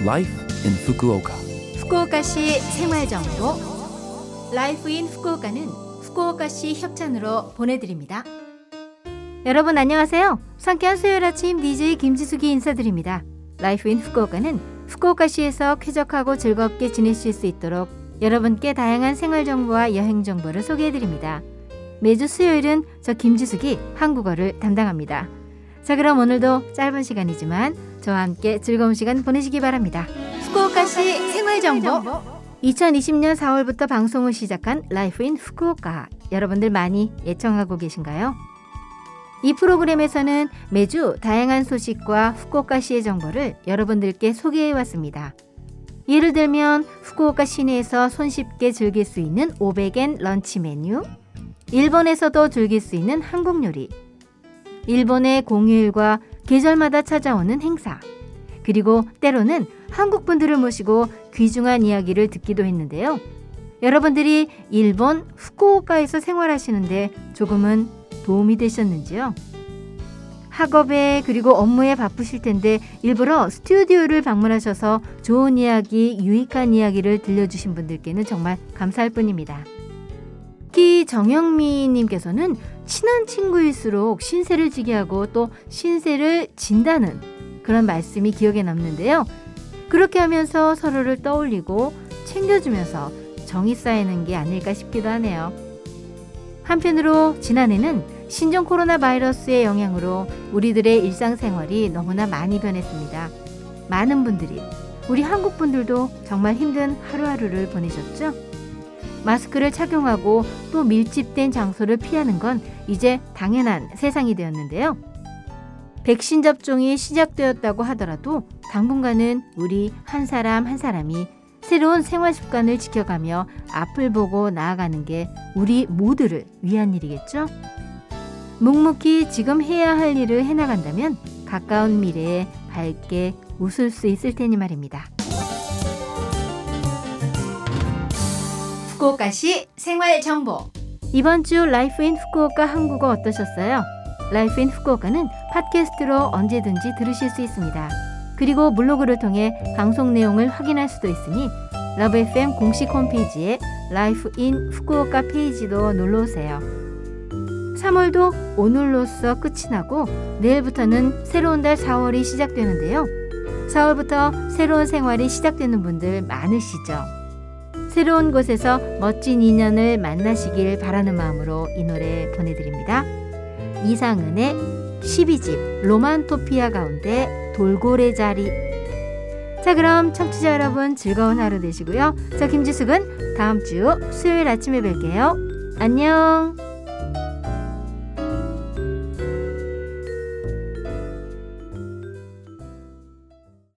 Life in Fukuoka. 후쿠오카시 생활정보 라이프 인 후쿠오카는 후쿠오카시 협찬으로 보내드립니다. 여러분 안녕하세요. 상쾌한 수요일 아침 DJ 김지숙이 인사드립니다. 라이프 인 후쿠오카는 후쿠오카시에서 쾌적하고 즐겁게 지내실 수 있도록 여러분께 다양한 생활정보와 여행정보를 소개해드립니다. 매주 수요일은 저 김지숙이 한국어를 담당합니다. 자, 그럼 오늘도 짧은 시간이지만 저와 함께 즐거운 시간 보내시기 바랍니다. 후쿠오카시 생활정보 2020년 4월부터 방송을 시작한 라이프 인 후쿠오카, 여러분들 많이 애청하고 계신가요? 이 프로그램에서는 매주 다양한 소식과 후쿠오카시의 정보를 여러분들께 소개해왔습니다. 예를 들면 후쿠오카 시내에서 손쉽게 즐길 수 있는 500엔 런치 메뉴, 일본에서도 즐길 수 있는 한국 요리, 일본의 공휴일과 계절마다 찾아오는 행사, 그리고 때로는 한국 분들을 모시고 귀중한 이야기를 듣기도 했는데요. 여러분들이 일본 후쿠오카에서 생활하시는데 조금은 도움이 되셨는지요? 학업에 그리고 업무에 바쁘실 텐데 일부러 스튜디오를 방문하셔서 좋은 이야기, 유익한 이야기를 들려주신 분들께는 정말 감사할 뿐입니다. 특히 정영미님께서는 친한 친구일수록 신세를 지게 하고 또 신세를 진다는 그런 말씀이 기억에 남는데요. 그렇게 하면서 서로를 떠올리고 챙겨주면서 정이 쌓이는 게 아닐까 싶기도 하네요. 한편으로 지난해는 신종 코로나 바이러스의 영향으로 우리들의 일상생활이 너무나 많이 변했습니다. 많은 분들이, 우리 한국 분들도 정말 힘든 하루하루를 보내셨죠? 마스크를 착용하고 또 밀집된 장소를 피하는 건 이제 당연한 세상이 되었는데요. 백신 접종이 시작되었다고 하더라도 당분간은 우리 한 사람 한 사람이 새로운 생활 습관을 지켜가며 앞을 보고 나아가는 게 우리 모두를 위한 일이겠죠? 묵묵히 지금 해야 할 일을 해나간다면 가까운 미래에 밝게 웃을 수 있을 테니 말입니다. 후쿠오카시 생활정보, 이번 주 라이프 인 후쿠오카 한국어 어떠셨어요? 라이프 인 후쿠오카는 팟캐스트로 언제든지 들으실 수 있습니다. 그리고 블로그를 통해 방송 내용을 확인할 수도 있으니 러브 FM 공식 홈페이지에 라이프 인 후쿠오카 페이지도 놀러오세요. 3월도 오늘로써 끝이 나고 내일부터는 새로운 달 4월이 시작되는데요. 4월부터 새로운 생활이 시작되는 분들 많으시죠? 새로운 곳에서 멋진 인연을 만나시길 바라는 마음으로 이 노래 보내드립니다. 이상은의 12집 로만토피아 가운데 돌고래 자리. 자, 그럼 청취자 여러분 즐거운 하루 되시고요. 저 김지숙은 다음 주 수요일 아침에 뵐게요. 안녕.